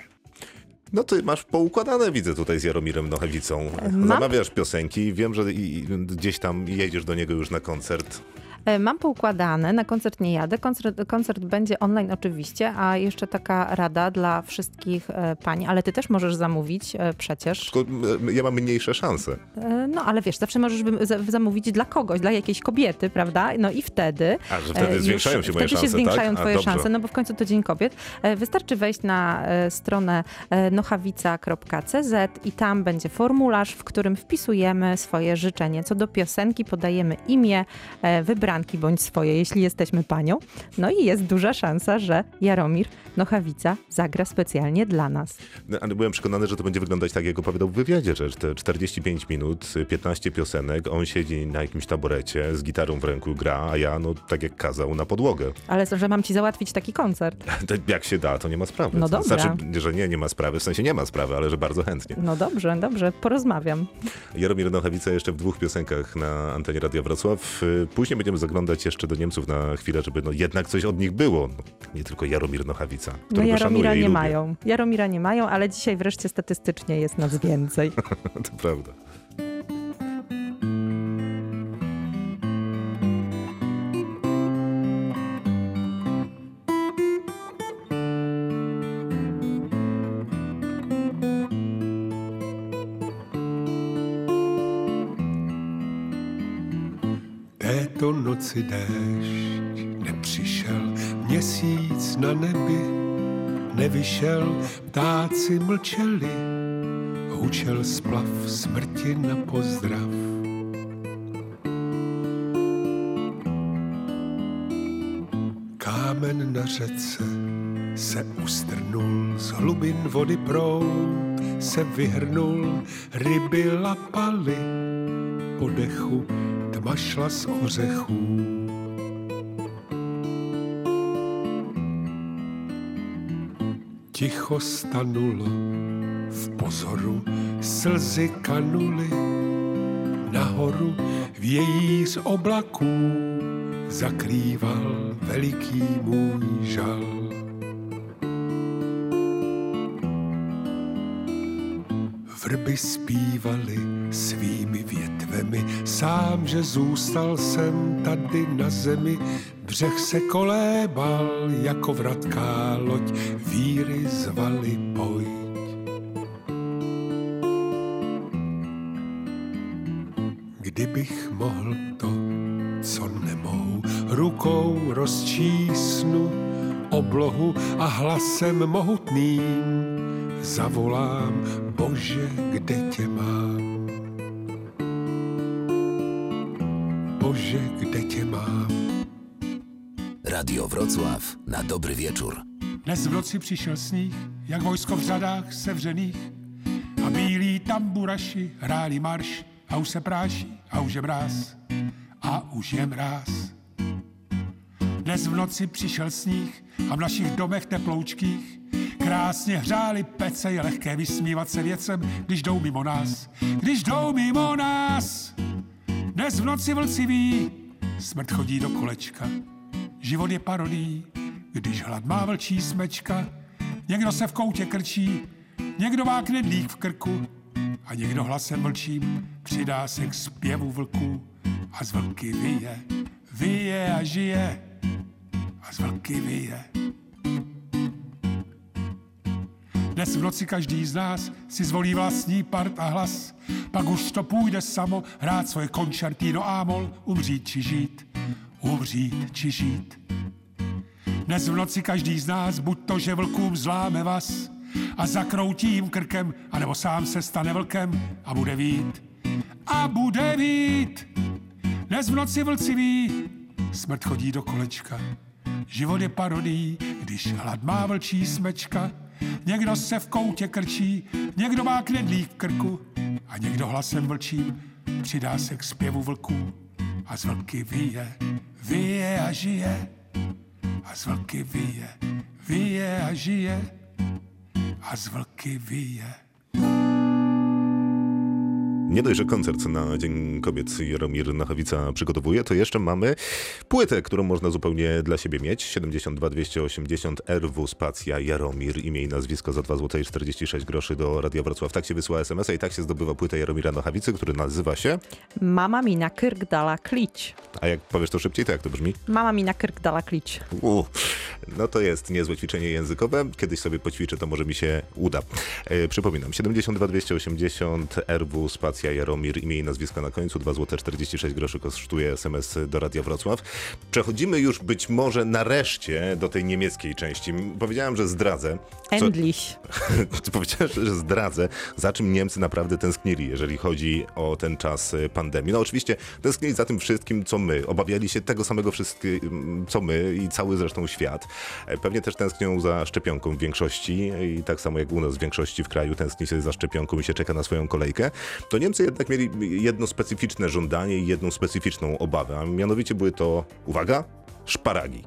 No ty masz poukładane, widzę tutaj z Jaromirem Nochewicą. Mam- Zamawiasz piosenki, wiem, że i, i gdzieś tam jedziesz do niego już na koncert. E, Mam poukładane, na koncert nie jadę. Koncert, koncert będzie online oczywiście, a jeszcze taka rada dla wszystkich e, pań, ale ty też możesz zamówić e, przecież. Tylko e, ja mam mniejsze szanse. E, No ale wiesz, zawsze możesz wym- za- zamówić dla kogoś, dla jakiejś kobiety, prawda? No i wtedy... A, że wtedy e, już- zwiększają się moje wtedy szanse, się zwiększają tak? A, twoje dobrze. szanse, no bo w końcu to Dzień Kobiet. E, Wystarczy wejść na e, stronę e, nochawica kropka c z i tam będzie formularz, w którym wpisujemy swoje życzenie. Co do piosenki podajemy imię e, wybrane ubranki bądź swoje, jeśli jesteśmy panią. No i jest duża szansa, że Jaromir Nochawica zagra specjalnie dla nas. No, ale byłem przekonany, że to będzie wyglądać tak, jak opowiadał w wywiadzie, że te czterdzieści pięć minut, piętnaście piosenek, on siedzi na jakimś taborecie, z gitarą w ręku gra, a ja, no tak jak kazał, na podłogę. Ale że mam ci załatwić taki koncert. Jak się da, to nie ma sprawy. No dobra. Znaczy, że nie, nie ma sprawy, w sensie nie ma sprawy, ale że bardzo chętnie. No dobrze, dobrze, porozmawiam. Jaromir Nochawica jeszcze w dwóch piosenkach na antenie Radia Wrocław. Później będziemy zaglądać jeszcze do Niemców na chwilę, żeby no jednak coś od nich było. No, nie tylko Jaromir Nochawica, No którego Jaromira szanuję i nie lubię. mają. Jaromira nie mają, ale dzisiaj wreszcie statystycznie jest nas więcej. To prawda. Této noci déšť nepřišel, měsíc na nebi nevyšel, ptáci mlčeli, hučel splav smrti na pozdrav. Kámen na řece se ustrnul, z hlubin vody proud se vyhrnul, ryby lapaly po dechu, tma šla z ořechů. Ticho stanulo v pozoru, slzy kanuly nahoru, vějíř oblaků zakrýval veliký můj žal. Vrby zpívaly svými větvemi, sám, že zůstal jsem tady na zemi. Břeh se kolébal jako vratká loď, víry zvali pojď. Kdybych mohl to, co nemohu, rukou rozčísnu oblohu a hlasem mohutným zavolám, Bože, kde tě mám? Bože, kde tě mám? Radio Wrocław na dobry wieczór. Dnes v noci přišel sníh, jak vojsko v řadách sevřených, a bílí tamburaši hráli marš, a už se práší, a už je mráz, a už je mráz. Dnes v noci přišel sníh a v našich domech teploučkých krásně hřáli pece, je lehké vysmívat se věcem, když jdou mimo nás, když jdou mimo nás. Dnes v noci vlci ví, smrt chodí do kolečka, život je parodí, když hlad má vlčí smečka. Někdo se v koutě krčí, někdo má knedlík v krku a někdo hlasem vlčím přidá se k zpěvu vlků a z vlky vyje, vyje a žije a z vlky vyje. Dnes v noci každý z nás si zvolí vlastní part a hlas, pak už to půjde samo hrát svoje koncertino a-moll, umřít či žít, umřít či žít. Dnes v noci každý z nás, buď to, že vlkům zláme vás a zakroutí jim krkem, anebo sám se stane vlkem a bude vít, a bude vít. Dnes v noci vlci ví, smrt chodí do kolečka, život je parodí, když hlad má vlčí smečka. Někdo se v koutě krčí, někdo má knedlík v krku a někdo hlasem vlčím přidá se k zpěvu vlků a z vlky vyje, vyje a žije a z vlky vyje, vyje a žije a z vlky vyje. Nie dość, że koncert na Dzień Kobiet Jaromir Nochawica przygotowuje, to jeszcze mamy płytę, którą można zupełnie dla siebie mieć. siedemdziesiąt dwa dwieście osiemdziesiąt R W spacja Jaromir, imię i nazwisko za dwa złote i czterdzieści sześć groszy do Radia Wrocław. Tak się wysyła es em es a i tak się zdobywa płytę Jaromira Nochawicy, który nazywa się... Mama mi na krk dala klić. A jak powiesz to szybciej, to jak to brzmi? Mama mi na krk dala klić. U, no to jest niezłe ćwiczenie językowe. Kiedyś sobie poćwiczę, to może mi się uda. E, przypominam, siedemdziesiąt dwa dwieście osiemdziesiąt R W spacja audycja Jaromir, imię i nazwisko na końcu, dwa złote czterdzieści sześć groszy kosztuje es em es do Radia Wrocław. Przechodzimy już być może nareszcie do tej niemieckiej części. Powiedziałem, że zdradzę. Co... Endlich. Powiedziałem, że zdradzę, za czym Niemcy naprawdę tęsknili, jeżeli chodzi o ten czas pandemii. No oczywiście tęsknili za tym wszystkim, co my. Obawiali się tego samego wszystkiego, co my i cały zresztą świat. Pewnie też tęsknią za szczepionką w większości i tak samo jak u nas w większości w kraju tęskni się za szczepionką i się czeka na swoją kolejkę. To Niemcy jednak mieli jedno specyficzne żądanie i jedną specyficzną obawę, a mianowicie były to, uwaga, szparagi.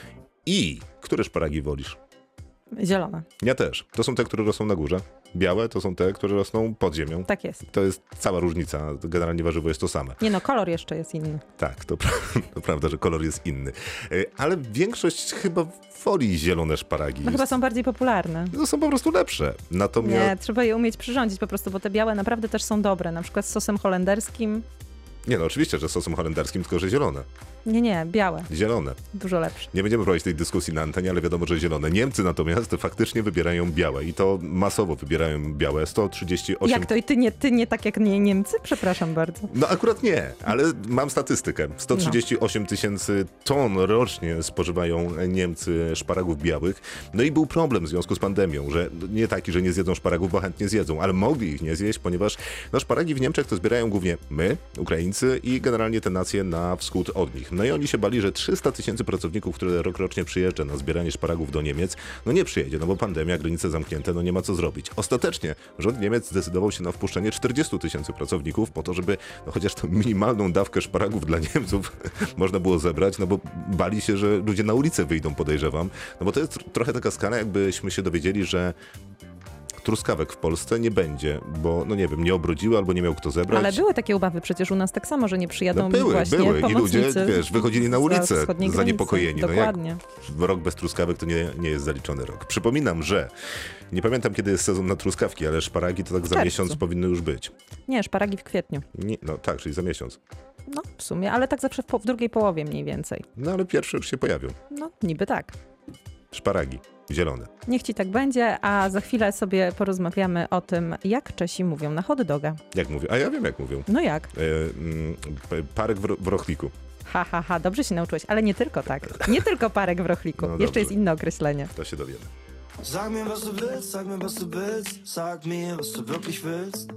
I które szparagi wolisz? Zielone. Ja też. To są te, które rosną na górze. Białe to są te, które rosną pod ziemią. Tak jest. To jest cała różnica. Generalnie warzywo jest to same. Nie no, kolor jeszcze jest inny. Tak, to, pra- to prawda, że kolor jest inny. Ale większość chyba woli zielone szparagi. No chyba są bardziej popularne. To są po prostu lepsze. Natomiast... Nie, trzeba je umieć przyrządzić po prostu, bo te białe naprawdę też są dobre. Na przykład z sosem holenderskim. Nie no, oczywiście, że sosem holenderskim, tylko że zielone. Nie, nie, białe. Zielone. Dużo lepsze. Nie będziemy prowadzić tej dyskusji na antenie, ale wiadomo, że zielone. Niemcy natomiast faktycznie wybierają białe i to masowo wybierają białe. sto trzydzieści osiem... Jak to? I ty nie, ty nie tak jak nie Niemcy? Przepraszam bardzo. No akurat nie, ale mam statystykę. sto trzydzieści osiem tysięcy ton rocznie spożywają Niemcy szparagów białych. No i był problem w związku z pandemią, że nie taki, że nie zjedzą szparagów, bo chętnie zjedzą, ale mogli ich nie zjeść, ponieważ no, szparagi w Niemczech to zbierają głównie my, Ukraińcy i generalnie te nacje na wschód od nich. No i oni się bali, że trzysta tysięcy pracowników, które rokrocznie przyjeżdża na zbieranie szparagów do Niemiec, no nie przyjedzie, no bo pandemia, granice zamknięte, no nie ma co zrobić. Ostatecznie rząd Niemiec zdecydował się na wpuszczenie czterdzieści tysięcy pracowników po to, żeby no chociaż tą minimalną dawkę szparagów dla Niemców można było zebrać, no bo bali się, że ludzie na ulicę wyjdą, podejrzewam. No bo to jest trochę taka skala, jakbyśmy się dowiedzieli, że truskawek w Polsce nie będzie, bo no nie wiem, nie obrodziły albo nie miał kto zebrać. Ale były takie obawy przecież u nas tak samo, że nie przyjadą no były, właśnie były i ludzie, pomocnicy wiesz, wychodzili na ulicę zaniepokojeni. Dokładnie. No jak rok bez truskawek to nie, nie jest zaliczony rok. Przypominam, że nie pamiętam kiedy jest sezon na truskawki, ale szparagi to tak za miesiąc powinny już być. Nie, szparagi w kwietniu. Nie, no tak, czyli za miesiąc. No w sumie, ale tak zawsze w, po, w drugiej połowie mniej więcej. No ale pierwsze już się pojawią. No niby tak. Szparagi. Zielone. Niech ci tak będzie, a za chwilę sobie porozmawiamy o tym, jak Czesi mówią na hot doga. Jak mówią? A ja wiem, jak mówią. No jak? E, mm, parek w, ro- w rochliku. Ha, ha, ha, dobrze się nauczyłeś, ale nie tylko tak. Nie tylko parek w rochliku. No Jeszcze dobrze. jest inne określenie. To się dowiemy. Sag mir, was du willst, sag mir, was du willst, sag mir, was du wirklich willst.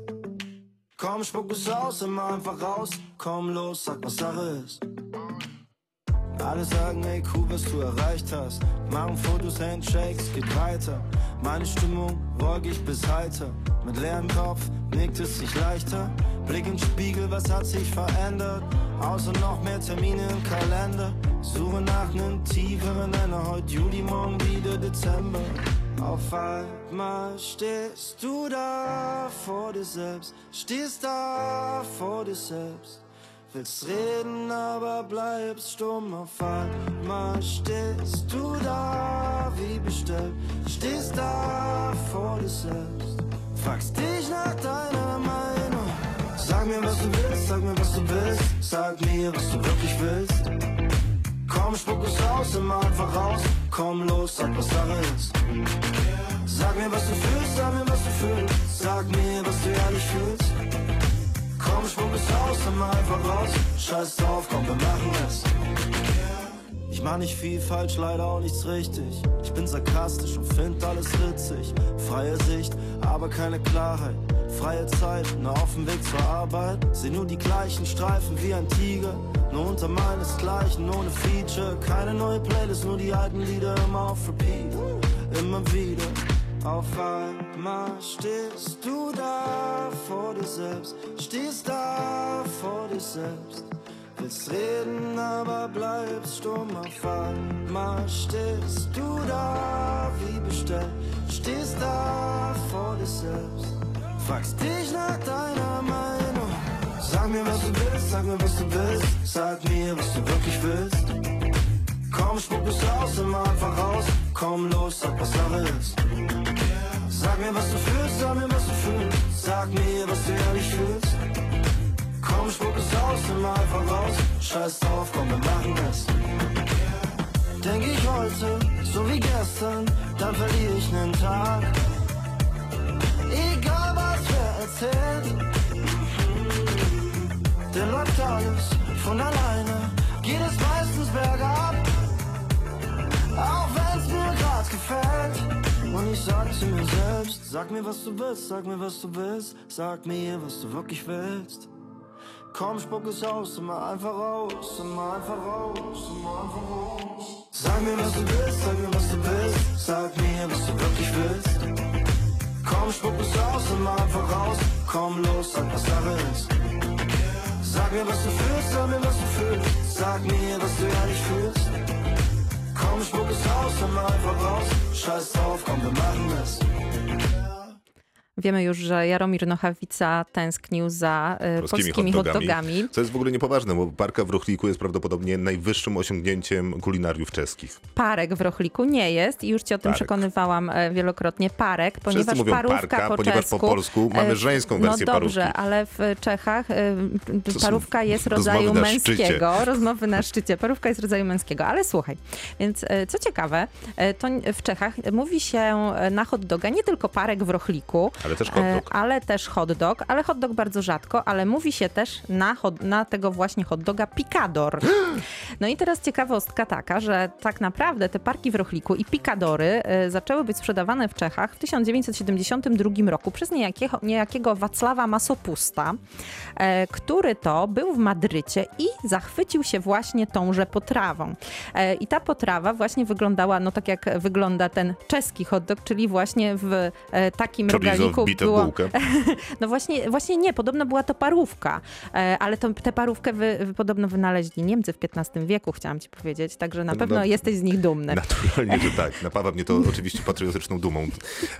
Komm, spuck es aus, immer einfach raus, komm los, sag, was Sache ist. Alle sagen, ey, cool, was du erreicht hast. Machen Fotos, Handshakes, geht weiter. Meine Stimmung wolkig bis heiter. Mit leerem Kopf nickt es sich leichter. Blick im Spiegel, was hat sich verändert? Außer noch mehr Termine im Kalender. Suche nach nem tieferen Nenner. Heute Juli, morgen wieder Dezember. Auf einmal stehst du da vor dir selbst. Stehst da vor dir selbst. Willst reden, aber bleibst stumm. Auf einmal stehst du da wie bestellt. Stehst da vor dir selbst. Fragst dich nach deiner Meinung. Sag mir, was du willst, sag mir, was du willst. Sag mir, was du wirklich willst. Komm, spuck es aus, immer einfach raus. Komm los, sag, was Sache ist. Sag mir, was du fühlst, sag mir, was du fühlst. Sag mir, was du ehrlich fühlst. Komm, spuck es aus, immer einfach raus. Scheiß drauf, komm, wir machen es. Ich mach nicht viel falsch, leider auch nichts richtig. Ich bin sarkastisch und find alles witzig. Freie Sicht, aber keine Klarheit. Freie Zeit, nur auf dem Weg zur Arbeit. Seh nur die gleichen Streifen wie ein Tiger. Nur unter meinesgleichen, ohne Feature. Keine neue Playlist, nur die alten Lieder immer auf Repeat. Immer wieder. Auf einmal stehst du da vor dir selbst. Stehst da vor dir selbst. Willst reden, aber bleibst stumm. Auf einmal stehst du da wie bestellt. Stehst da vor dir selbst. Fragst dich nach deiner Meinung. Sag mir, was du willst, sag mir, was du willst. Sag mir, was du wirklich willst. Komm, spuck es aus, immer einfach raus. Komm los, sag, was Sache ist. Sag mir, was du fühlst, sag mir, was du fühlst. Sag mir, was du ehrlich fühlst. Komm, spuck es aus, immer einfach raus. Scheiß drauf, komm, wir machen es. Denk ich heute, so wie gestern, dann verliere ich nen Tag. Egal was wer erzählt, alles von alleine, geht es meistens bergab. Auch wenn's mir grad gefällt. Und ich sag zu mir selbst, sag mir was du willst, sag mir was du willst, sag mir was du wirklich willst. Komm, spuck es aus, immer einfach raus, immer einfach raus, immer einfach raus. Sag mir was du willst, sag mir was du willst, sag mir was du wirklich willst. Komm, spuck es aus, immer einfach raus, komm los, sag was Sache ist. Sag mir was du fühlst, sag mir was du fühlst, sag mir was du ehrlich fühlst. Komm, spuck es aus, immer einfach raus, scheiß drauf, komm, wir machen es. Wiemy już, że Jaromir Nochawica tęsknił za y, polskimi hot dogami. Co jest w ogóle niepoważne, bo parka w Rochliku jest prawdopodobnie najwyższym osiągnięciem kulinariów czeskich. Parek w Rochliku nie jest i już ci o tym Parek. przekonywałam wielokrotnie. Parek, ponieważ Wszyscy mówią parówka parka, po ponieważ czesku, po polsku mamy żeńską wersję no dobrze, parówki. ale w Czechach y, parówka jest rodzaju rozmowy na męskiego. szczycie. Rozmowy na szczycie. Parówka jest rodzaju męskiego. Ale słuchaj, więc y, co ciekawe, y, to w Czechach mówi się na hot doga nie tylko parek w Rochliku, Ale też hot dog. ale też hot dog, ale hot dog bardzo rzadko, ale mówi się też na, hot, na tego właśnie hot doga picador. No i teraz ciekawostka taka, że tak naprawdę te parki w Rochliku i picadory y, zaczęły być sprzedawane w Czechach w tysiąc dziewięćset siedemdziesiątym drugim roku przez niejakiego, niejakiego Wacława Masopusta, y, który to był w Madrycie i zachwycił się właśnie tąże potrawą. Y, I ta potrawa właśnie wyglądała, no tak jak wygląda ten czeski hot dog, czyli właśnie w y, takim Chorizo regaliku wbite w było... bułkę. No właśnie, właśnie nie, podobno była to parówka, e, ale to, tę parówkę wy, wy, podobno wynaleźli Niemcy w piętnastym wieku, chciałam ci powiedzieć, także na No, pewno no, jesteś z nich dumny. Naturalnie, że tak. Napawa mnie to oczywiście patriotyczną dumą, e,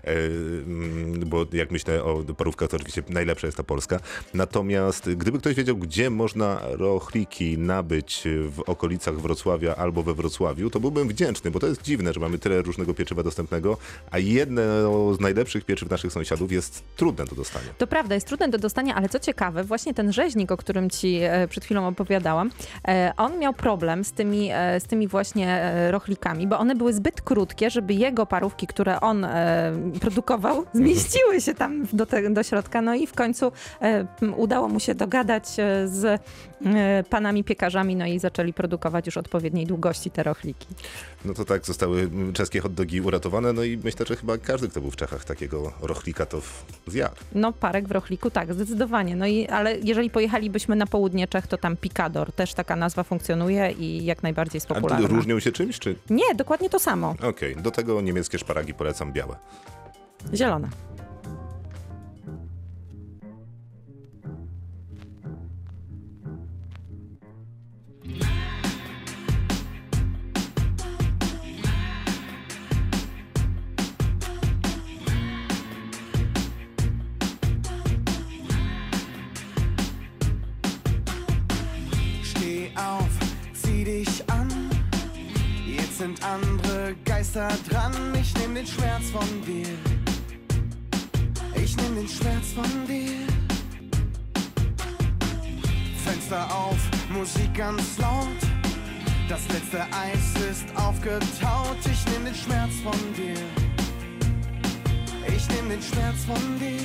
bo jak myślę o parówkach, to oczywiście najlepsza jest ta polska. Natomiast gdyby ktoś wiedział, gdzie można rochliki nabyć w okolicach Wrocławia albo we Wrocławiu, to byłbym wdzięczny, bo to jest dziwne, że mamy tyle różnego pieczywa dostępnego, a jedno z najlepszych pieczyw naszych sąsiadów jest trudne do dostania. To prawda, jest trudne do dostania, ale co ciekawe, właśnie ten rzeźnik, o którym ci e, przed chwilą opowiadałam, e, on miał problem z tymi, e, z tymi właśnie e, rochlikami, bo one były zbyt krótkie, żeby jego parówki, które on e, produkował, zmieściły się tam do, te, do środka. No i w końcu e, udało mu się dogadać e, z e, panami piekarzami, no i zaczęli produkować już odpowiedniej długości te rochliki. No to tak, zostały czeskie hot dogi uratowane, no i myślę, że chyba każdy, kto był w Czechach, takiego rochlika to zjadł. No parek w Rochliku, tak, zdecydowanie. No i, ale jeżeli pojechalibyśmy na południe Czech, to tam picador, też taka nazwa funkcjonuje i jak najbardziej jest popularna. A różnią się czymś, czy? Nie, dokładnie to samo. Okej, okay. Do tego niemieckie szparagi polecam białe. Zielone. Sind andere Geister dran, ich nehm den Schmerz von dir. Ich nehm den Schmerz von dir. Fenster auf, Musik ganz laut. Das letzte Eis ist aufgetaut. Ich nehm den Schmerz von dir. Ich nehm den Schmerz von dir.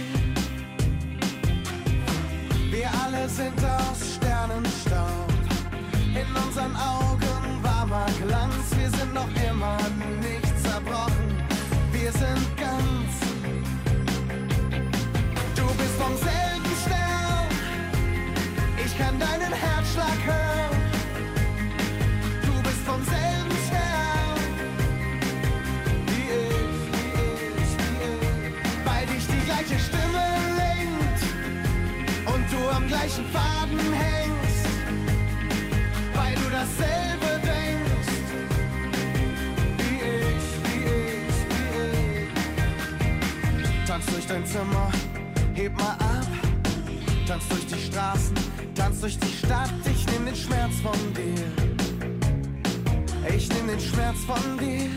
Wir alle sind aus Sternenstaub. In unseren Augen warmer Glanz. Wir sind noch immer nicht zerbrochen. Wir sind ganz. Du bist vom selben Stern. Ich kann deinen Herzschlag hören. Du bist vom selben Stern. Wie ich, wie ich, wie ich. Weil dich die gleiche Stimme lenkt. Und du am gleichen Faden hängst. Weil du dasselbe denkst, wie ich, wie ich, wie ich. Tanz durch dein Zimmer, heb mal ab. Tanz durch die Straßen, tanz durch die Stadt. Ich nehm den Schmerz von dir. Ich nehm den Schmerz von dir.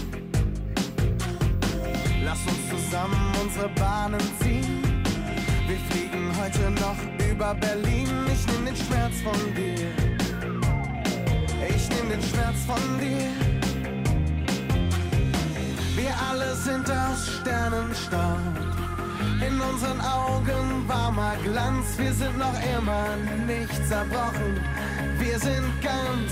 Lass uns zusammen unsere Bahnen ziehen. Wir fliegen heute noch über Berlin. Ich nehm den Schmerz von dir. Ich nehm den Schmerz von dir. Wir alle sind aus Sternenstaub. In unseren Augen warmer Glanz. Wir sind noch immer nicht zerbrochen. Wir sind ganz.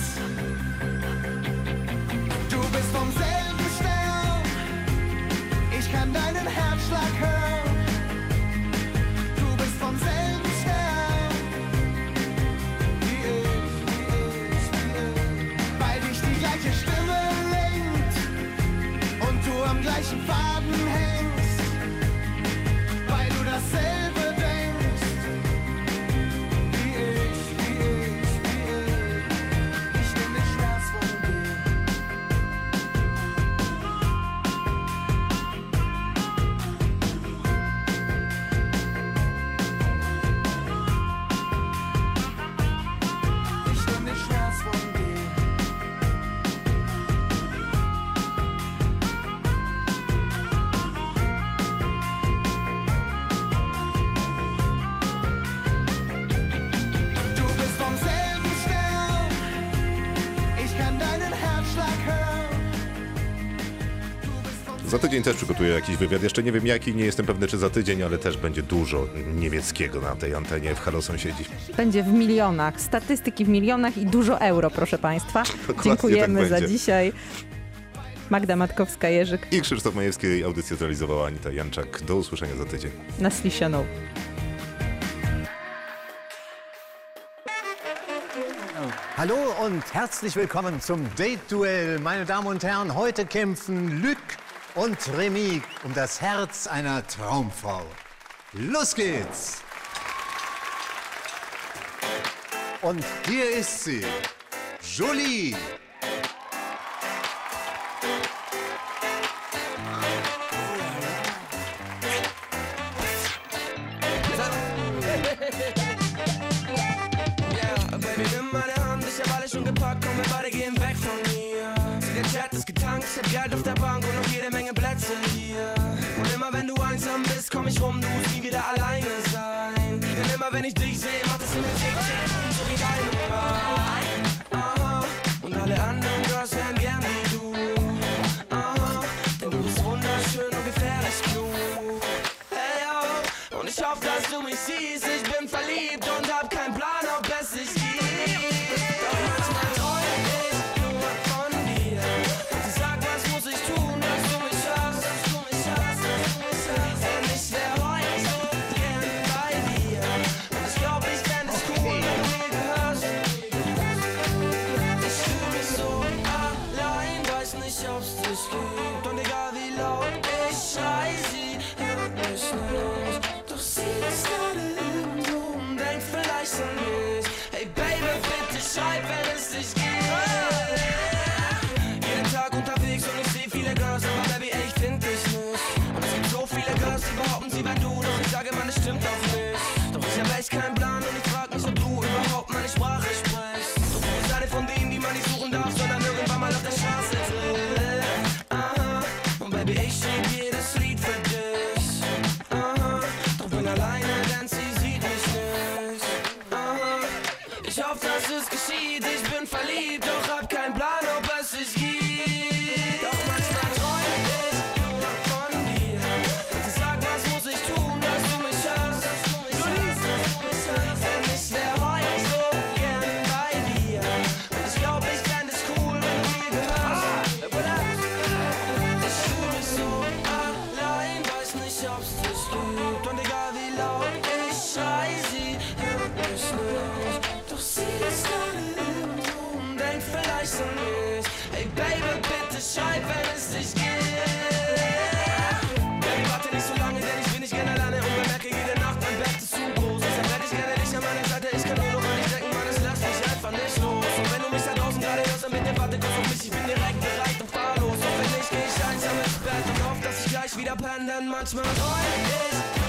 Du bist vom selben Stern. Ich kann deinen Herzschlag hören. Du bist vom selben Stern. Wie ich, wie ich, wie ich. Weil dich die gleiche Stimme lenkt und du am gleichen Faden hängst. Weil du dasselbe denkst. Wie ich, wie ich, wie ich. Ich nehm den Schmerz von dir. Ich nehm den Schmerz von dir. Du bist vom selben Stern. Ich kann deinen Herzschlag hören. Du bist vom Za tydzień też przygotuję jakiś wywiad. Jeszcze nie wiem jaki, nie jestem pewny czy za tydzień, ale też będzie dużo niemieckiego na tej antenie w Halo Sąsiedzi. Będzie w milionach, statystyki w milionach i dużo euro, proszę Państwa. Dziękujemy tak za będzie. dzisiaj. Magda Matkowska-Jerzyk I Krzysztof Majewski, audycję zrealizowała Anita Janczak. Do usłyszenia za tydzień. na Slishoną. Hallo und herzlich willkommen zum Date-Duell. Meine Damen und Herren, heute kämpfen Luc und Remy um das Herz einer Traumfrau. Los geht's! Und hier ist sie, Jolie. Baby, nimm meine Hand, ich hab alles schon gepackt, komm, wir beide gehen weg von mir. Sie, der Chat ist getankt, ich hab Geld auf der Bank und noch jede Menge Plätze hier. Und immer wenn du einsam bist, komm ich rum, du musst nie wieder alleine sein. Denn immer wenn ich dich sehe, macht es immer tick, tick, so wie deine Wahl. Aha, und alle anderen Girls wären gern wie du. Aha, denn du bist wunderschön und gefährlich klug. Hey, oh, und ich hoffe, dass du mich siehst, ich bin verliebt und hab keinen Plan, ob es sich gibt. Doch manchmal träum ich nur von dir. Und ich sag, was muss ich tun, dass du mich hast, dass du mich hast, dass du mich hast. Denn ich wär heute so gern bei dir. Und ich glaub, ich fänd es cool, wenn du mir gehörst. Ich fühl mich so allein, weiß nicht, ob's dich gibt. Und egal wie laut ich schrei, sie hört mich nicht. Doch sie ist gerade irgendwo und denkt vielleicht an mich. Hey Baby, bitte schreib, wenn es dich gibt. Jeden Tag unterwegs und ich seh viele Girls, aber Baby, ey, ich find dich nicht. Und es gibt so viele Girls, die behaupten, sie wär du. Doch ich sage, man, es stimmt doch nicht. Doch ich hab echt keinen Plan und ich frag mich, ob du überhaupt meine Sprache sprichst. Doch du bist eine von denen, die man nicht suchen darf, sondern irgendwann mal auf der Straße trifft. Aha, und Baby, ich schrieb jedes Lied für dich. Aha, doch bin alleine, denn sie sieht mich nicht. Aha, ich hoffe, dass es geschieht, ich bin verliebt, doch hab keinen Plan, ob es sich gibt. Doch manchmal träum ich nur von dir. Und ich sag, was muss ich tun, dass du mich hast, dass du mich hast, dass du mich hast. Denn ich wär heute so gern bei dir. Und ich glaub, ich fänd es cool, wenn du mir gehörst. Ich fühl mich so allein, weiß nicht, ob's dich gibt. Und egal wie laut ich schrei, sie hört mich nicht. Doch sie ist gerade irgendwo und denkt vielleicht an mich. Hey Baby, bitte schreib, wenn es dich gibt. Baby, warte nicht so lange, denn ich bin nicht gerne alleine und bemerke jede Nacht, mein Bett ist zu groß. Deshalb hätte ich gerne dich an meiner Seite, ich kann nur noch an dich denken, Mann, es lässt mich einfach nicht los. Und wenn du mich da draußen gerade hörst, dann bitte warte kurz auf mich, ich bin direkt bereit und fahrlos. Und wenn nicht, geh ich einsam ins Bett und hoffe, dass ich gleich wieder penne, denn manchmal träum ich